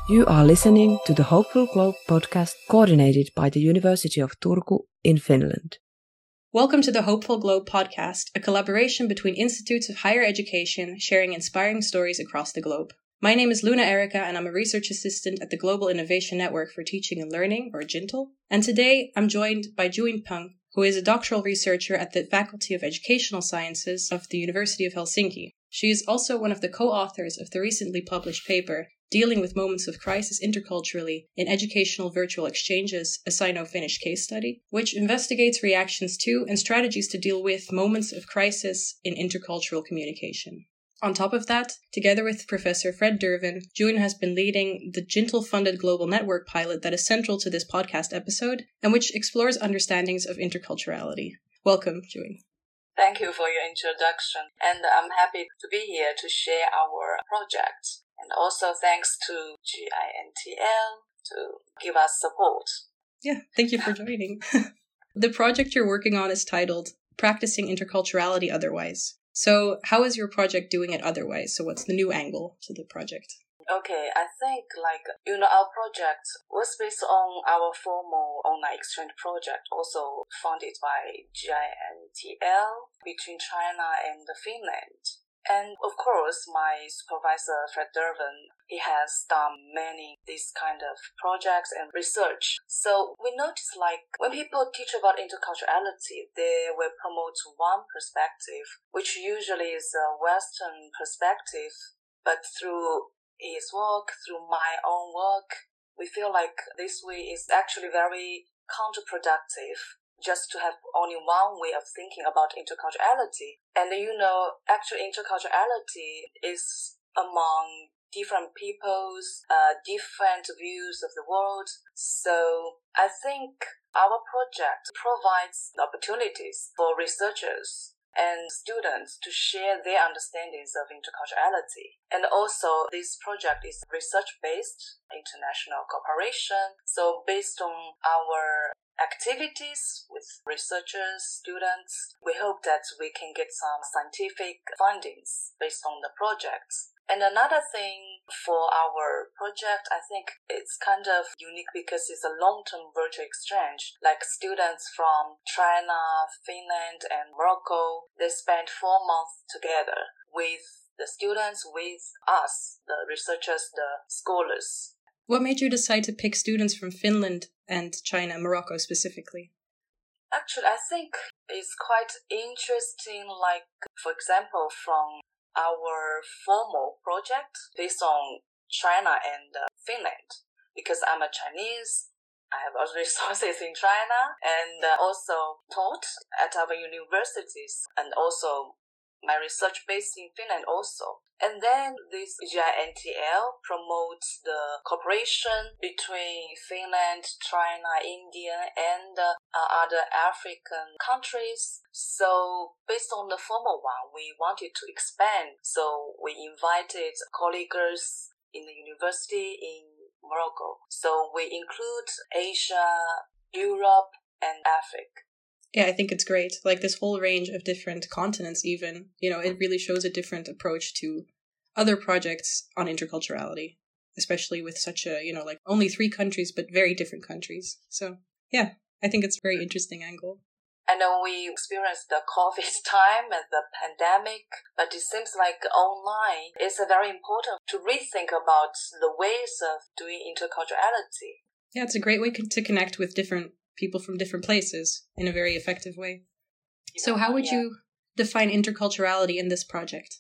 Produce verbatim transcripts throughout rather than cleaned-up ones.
You are listening to the Hopeful Globe podcast coordinated by the University of Turku in Finland. Welcome to the Hopeful Globe podcast, a collaboration between institutes of higher education sharing inspiring stories across the globe. My name is Luna Erica, and I'm a research assistant at the Global Innovation Network for Teaching and Learning, or GINTL. And today I'm joined by Juin Pang, who is a doctoral researcher at the Faculty of Educational Sciences of the University of Helsinki. She is also one of the co-authors of the recently published paper, Dealing with Moments of Crisis Interculturally in Educational Virtual Exchanges, a Sino-Finnish case study, which investigates reactions to and strategies to deal with moments of crisis in intercultural communication. On top of that, together with Professor Fred Derven, Juin has been leading the GINTL-funded global network pilot that is central to this podcast episode, and which explores understandings of interculturality. Welcome, Juin. Thank you for your introduction, and I'm happy to be here to share our project. And also thanks to GINTL to give us support. Yeah, thank you for joining. The project you're working on is titled Practicing Interculturality Otherwise. So how is your project doing it otherwise? So what's the new angle to the project? Okay, I think like, you know, our project was based on our formal online exchange project, also funded by GINTL between China and Finland. And of course, my supervisor, Fred Derven, he has done many these kind of projects and research. So we notice like when people teach about interculturality, they will promote one perspective, which usually is a Western perspective. But through his work, through my own work, we feel like this way is actually very counterproductive. Just to have only one way of thinking about interculturality. And you know, actually interculturality is among different peoples, uh, different views of the world. So I think our project provides opportunities for researchers and students to share their understandings of interculturality. And also, this project is research-based, international cooperation. So based on our activities with researchers, students, we hope that we can get some scientific findings based on the projects. And another thing for our project, I think it's kind of unique because it's a long-term virtual exchange. Like students from China, Finland, and Morocco, they spend four months together with the students, with us, the researchers, the scholars. What made you decide to pick students from Finland and China, Morocco specifically? Actually, I think it's quite interesting, like, for example, from our formal project based on China and uh, Finland, because I'm a Chinese, I have other resources in China, and uh, also taught at our universities, and also my research based in Finland also. And then this GINTL promotes the cooperation between Finland, China, India, and uh, other African countries. So based on the formal one, we wanted to expand. So we invited colleagues in the university in Morocco. So we include Asia, Europe, and Africa. Yeah, I think it's great. Like this whole range of different continents even, you know, it really shows a different approach to other projects on interculturality, especially with such a, you know, like only three countries, but very different countries. So yeah, I think it's a very interesting angle. I know we experienced the COVID time and the pandemic, but it seems like online is very important to rethink about the ways of doing interculturality. Yeah, it's a great way to connect with different people from different places in a very effective way. Yeah, so how would yeah. you define interculturality in this project?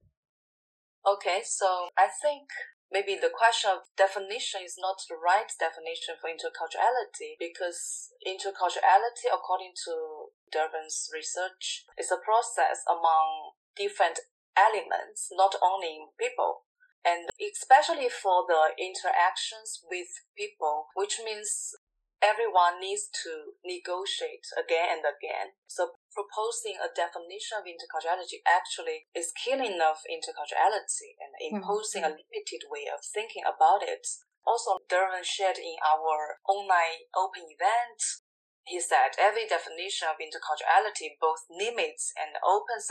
Okay, so I think maybe the question of definition is not the right definition for interculturality, because interculturality, according to Derven's research, is a process among different elements, not only people. And especially for the interactions with people, which means everyone needs to negotiate again and again. So proposing a definition of interculturality actually is killing of interculturality and imposing mm-hmm. a limited way of thinking about it. Also, Derven shared in our online open event, he said every definition of interculturality both limits and opens up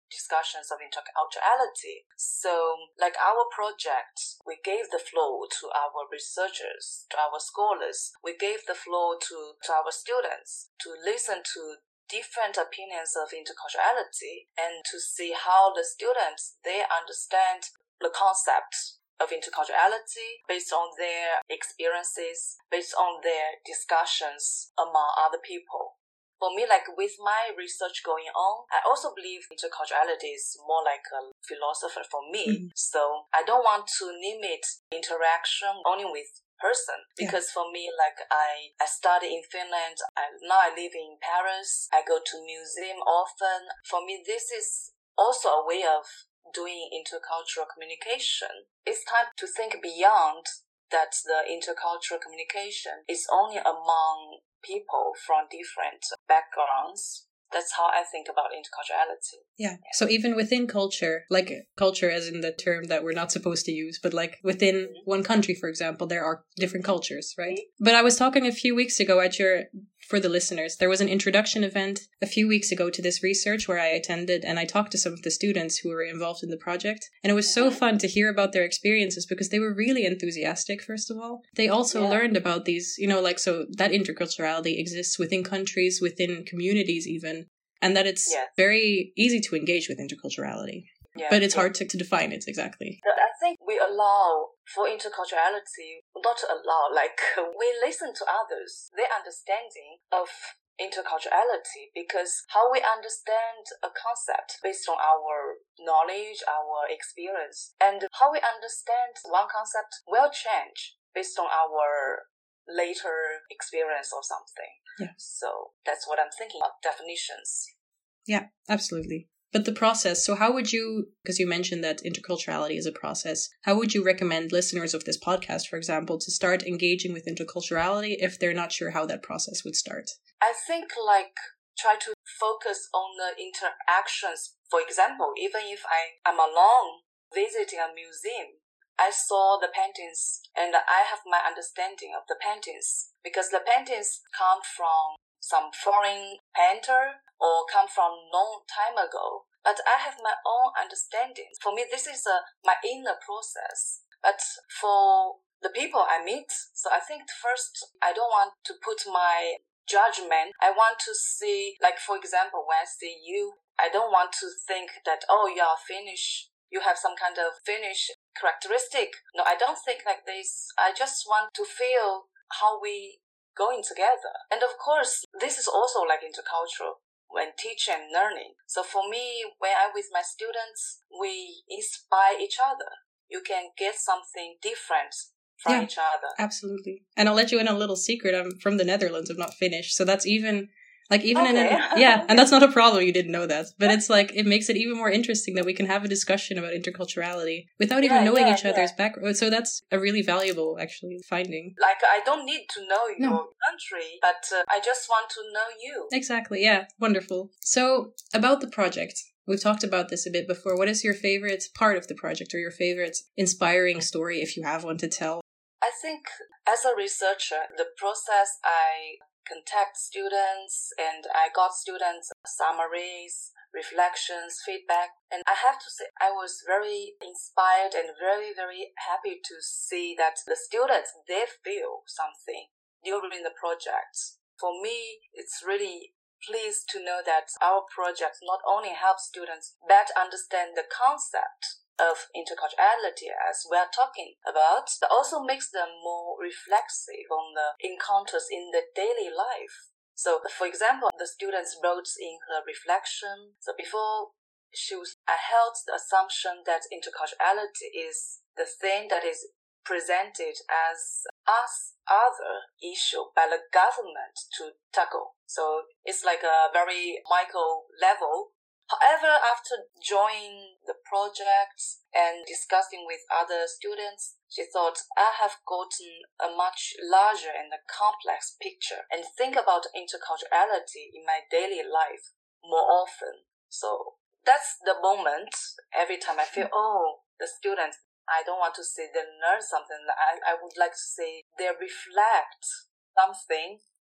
discussions of interculturality. So, like our project, we gave the floor to our researchers, to our scholars. We gave the floor to, to our students to listen to different opinions of interculturality and to see how the students, they understand the concept of interculturality based on their experiences, based on their discussions among other people. For me, like with my research going on, I also believe interculturality is more like a philosopher for me. Mm-hmm. So I don't want to limit interaction only with person, because yeah. for me, like I, I study in Finland, I, now I live in Paris, I go to museum often. For me, this is also a way of doing intercultural communication. It's time to think beyond that the intercultural communication is only among people from different backgrounds. That's how I think about interculturality. Yeah. So even within culture, like culture as in the term that we're not supposed to use, but like within mm-hmm. one country, for example, there are different cultures, right? Mm-hmm. But I was talking a few weeks ago at your, for the listeners, there was an introduction event a few weeks ago to this research where I attended, and I talked to some of the students who were involved in the project. And it was so mm-hmm. fun to hear about their experiences because they were really enthusiastic, first of all. They also yeah. learned about these, you know, like, so that interculturality exists within countries, within communities even. And that it's yes. very easy to engage with interculturality. Yeah, but it's yeah. hard to, to define it exactly. I think we allow for interculturality, not to allow, like we listen to others, their understanding of interculturality, because how we understand a concept based on our knowledge, our experience, and how we understand one concept will change based on our later experience or something. Yeah. So that's what I'm thinking about definitions. Yeah, absolutely. But the process, so how would you, because you mentioned that interculturality is a process, how would you recommend listeners of this podcast, for example, to start engaging with interculturality if they're not sure how that process would start? I think like try to focus on the interactions. For example, even if I am alone visiting a museum, I saw the paintings and I have my understanding of the paintings because the paintings come from some foreign painter or come from long time ago. But I have my own understanding. For me, this is a, my inner process. But for the people I meet, so I think first, I don't want to put my judgment. I want to see, like, for example, when I see you, I don't want to think that, oh, you are Finnish. You have some kind of Finnish characteristic. No, I don't think like this. I just want to feel how we going together. And of course, this is also like intercultural when teaching and learning. So for me, when I'm with my students, we inspire each other. You can get something different from yeah, each other. Absolutely. And I'll let you in a little secret. I'm from the Netherlands. I'm not Finnish. So that's even... Like even okay. in a, yeah, and that's not a problem. You didn't know that, but it's like it makes it even more interesting that we can have a discussion about interculturality without even yeah, knowing yeah, each yeah. other's background. So that's a really valuable, actually, finding. Like I don't need to know no. your country, but uh, I just want to know you. Exactly. Yeah. Wonderful. So about the project, we've talked about this a bit before. What is your favorite part of the project, or your favorite inspiring story, if you have one to tell? I think as a researcher, the process I contact students and I got students summaries, reflections, feedback. And I have to say, I was very inspired and very, very happy to see that the students, they feel something during the project. For me, it's really pleased to know that our project not only helps students better understand the concept of interculturality as we are talking about, but also makes them more reflexive on the encounters in the daily life. So, for example, the students wrote in her reflection, so before she was, I held the assumption that interculturality is the thing that is presented as us other issue by the government to tackle. So it's like a very micro level. However, after joining the project and discussing with other students, she thought, I have gotten a much larger and a complex picture and think about interculturality in my daily life more often. So that's the moment every time I feel, oh, the students, I don't want to say they learn something. I, I would like to say they reflect something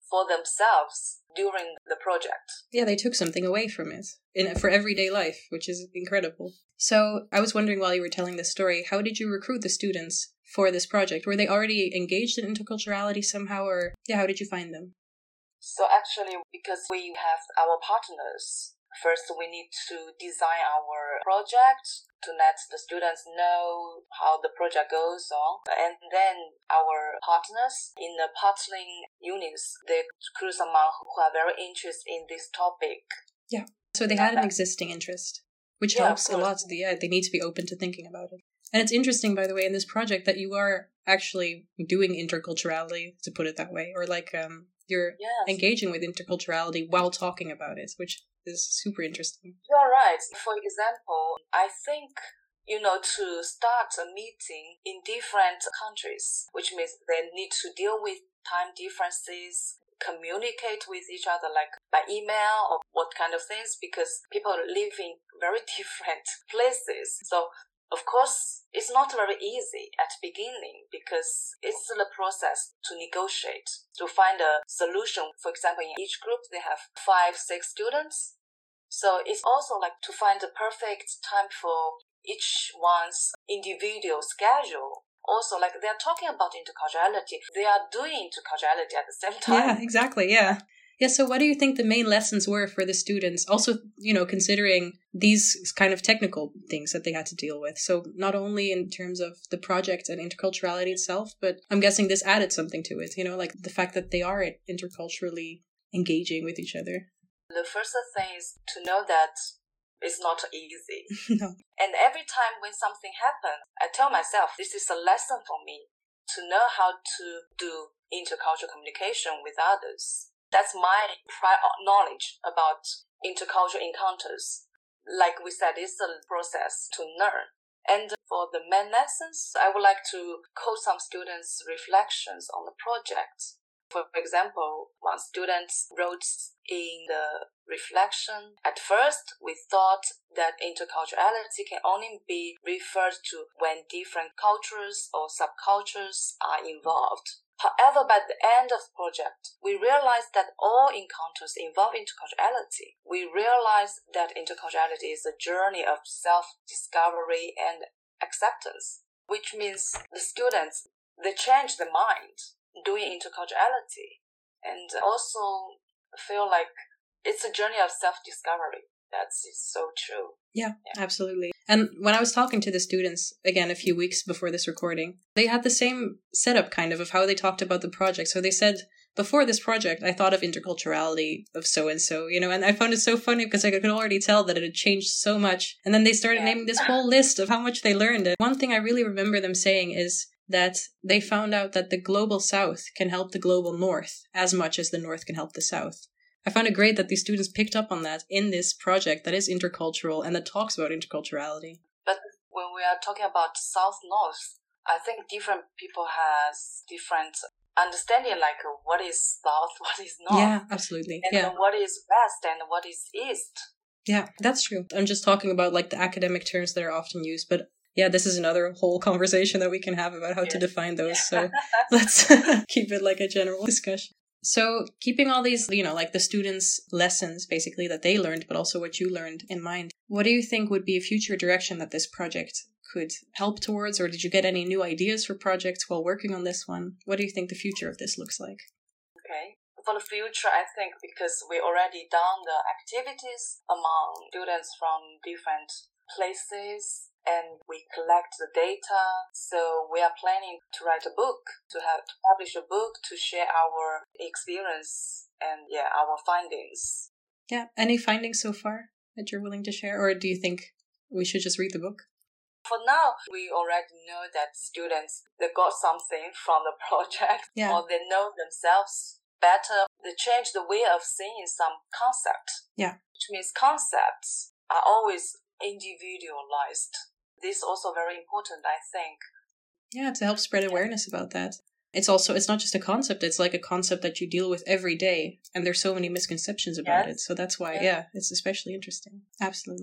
for themselves during the project. Yeah, they took something away from it in for everyday life, which is incredible. So I was wondering while you were telling this story, how did you recruit the students for this project? Were they already engaged in interculturality somehow, or yeah, how did you find them? So actually, because we have our partners, first we need to design our project to let the students know how the project goes on. And then our partners in the partnering units, they recruit someone who are very interested in this topic. Yeah. So they had an existing interest, which yeah, helps a lot. Yeah, they need to be open to thinking about it. And it's interesting, by the way, in this project that you are actually doing interculturality, to put it that way, or like um, you're yes. engaging with interculturality while talking about it, which is super interesting. You're right. For example, I think, you know, to start a meeting in different countries, which means they need to deal with time differences, communicate with each other like by email or what kind of things, because people live in very different places. So of course, it's not very easy at the beginning because it's the process to negotiate, to find a solution. For example, in each group, they have five, six students. So it's also like to find the perfect time for each one's individual schedule. Also, like they're talking about interculturality, they are doing interculturality at the same time. Yeah, exactly. Yeah. Yeah, so what do you think the main lessons were for the students? Also, you know, considering these kind of technical things that they had to deal with. So not only in terms of the project and interculturality itself, but I'm guessing this added something to it, you know, like the fact that they are interculturally engaging with each other. The first thing is to know that it's not easy. No. And every time when something happens, I tell myself, this is a lesson for me to know how to do intercultural communication with others. That's my prior knowledge about intercultural encounters. Like we said, it's a process to learn. And for the main lessons, I would like to quote some students' reflections on the project. For example, one student wrote in the reflection, at first we thought that interculturality can only be referred to when different cultures or subcultures are involved. However, by the end of the project, we realized that all encounters involve interculturality. We realized that interculturality is a journey of self-discovery and acceptance, which means the students, they change their mind doing interculturality and also feel like it's a journey of self-discovery. That's so true. Yeah, yeah, absolutely. And when I was talking to the students, again, a few weeks before this recording, they had the same setup kind of of how they talked about the project. So they said, before this project, I thought of interculturality of so-and-so, you know, and I found it so funny because I could already tell that it had changed so much. And then they started yeah. naming this whole list of how much they learned. And one thing I really remember them saying is that they found out that the global South can help the global North as much as the North can help the South. I found it great that these students picked up on that in this project that is intercultural and that talks about interculturality. But when we are talking about South-North, I think different people has different understanding, like what is South, what is North. Yeah, absolutely. And yeah. what is West and what is East. Yeah, that's true. I'm just talking about like the academic terms that are often used, but yeah, this is another whole conversation that we can have about how yeah. to define those. So let's keep it like a general discussion. So keeping all these, you know, like the students' lessons basically that they learned, but also what you learned in mind, what do you think would be a future direction that this project could help towards? Or did you get any new ideas for projects while working on this one? What do you think the future of this looks like? Okay. For the future, I think because we already done the activities among students from different places, and we collect the data. So we are planning to write a book, to have to publish a book to share our experience and yeah, our findings. Yeah. Any findings so far that you're willing to share, or do you think we should just read the book? For now, we already know that students, they got something from the project, yeah. or they know themselves better. They change the way of seeing some concept. Yeah. Which means concepts are always individualized. This is also very important, I think. Yeah, to help spread awareness about that. It's also, it's not just a concept, it's like a concept that you deal with every day. And there's so many misconceptions about yes. it. So that's why, yes. yeah, it's especially interesting. Absolutely.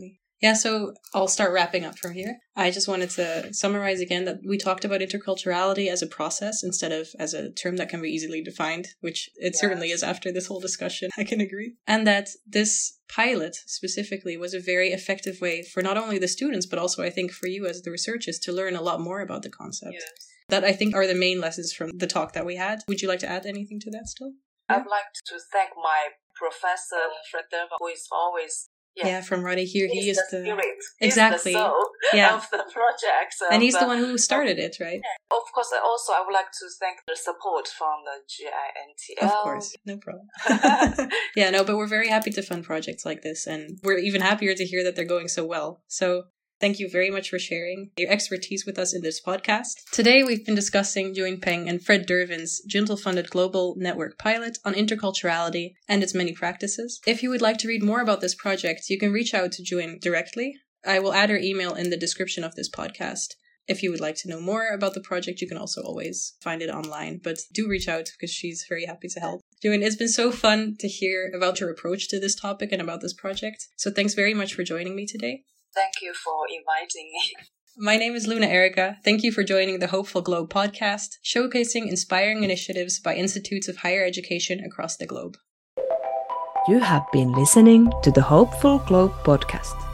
Yeah, so I'll start wrapping up from here. I just wanted to summarize again that we talked about interculturality as a process instead of as a term that can be easily defined, which it yes. certainly is after this whole discussion, I can agree. And that this pilot specifically was a very effective way for not only the students, but also I think for you as the researchers to learn a lot more about the concept. Yes. That I think are the main lessons from the talk that we had. Would you like to add anything to that still? I'd like to thank my professor, Fred Dervan, who is always Yeah. yeah, from Roddy here, he's he is the, the spirit. exactly He's the soul yeah. of the project, so and he's the, the one who started it, right? Yeah. Of course, also I would like to thank the support from the G I N T L. Of course, no problem. Yeah, no, but we're very happy to fund projects like this, and we're even happier to hear that they're going so well. So thank you very much for sharing your expertise with us in this podcast. Today, we've been discussing Juying Peng and Fred Dervan's Juntle-funded global network pilot on interculturality and its many practices. If you would like to read more about this project, you can reach out to Juying directly. I will add her email in the description of this podcast. If you would like to know more about the project, you can also always find it online, but do reach out because she's very happy to help. Juying, it's been so fun to hear about your approach to this topic and about this project. So thanks very much for joining me today. Thank you for inviting me. My name is Luna Erica. Thank you for joining the Hopeful Globe podcast, showcasing inspiring initiatives by institutes of higher education across the globe. You have been listening to the Hopeful Globe podcast.